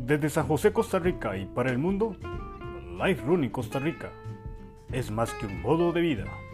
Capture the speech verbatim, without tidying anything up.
Desde San José, Costa Rica y para el mundo, Life Running Costa Rica es más que un modo de vida.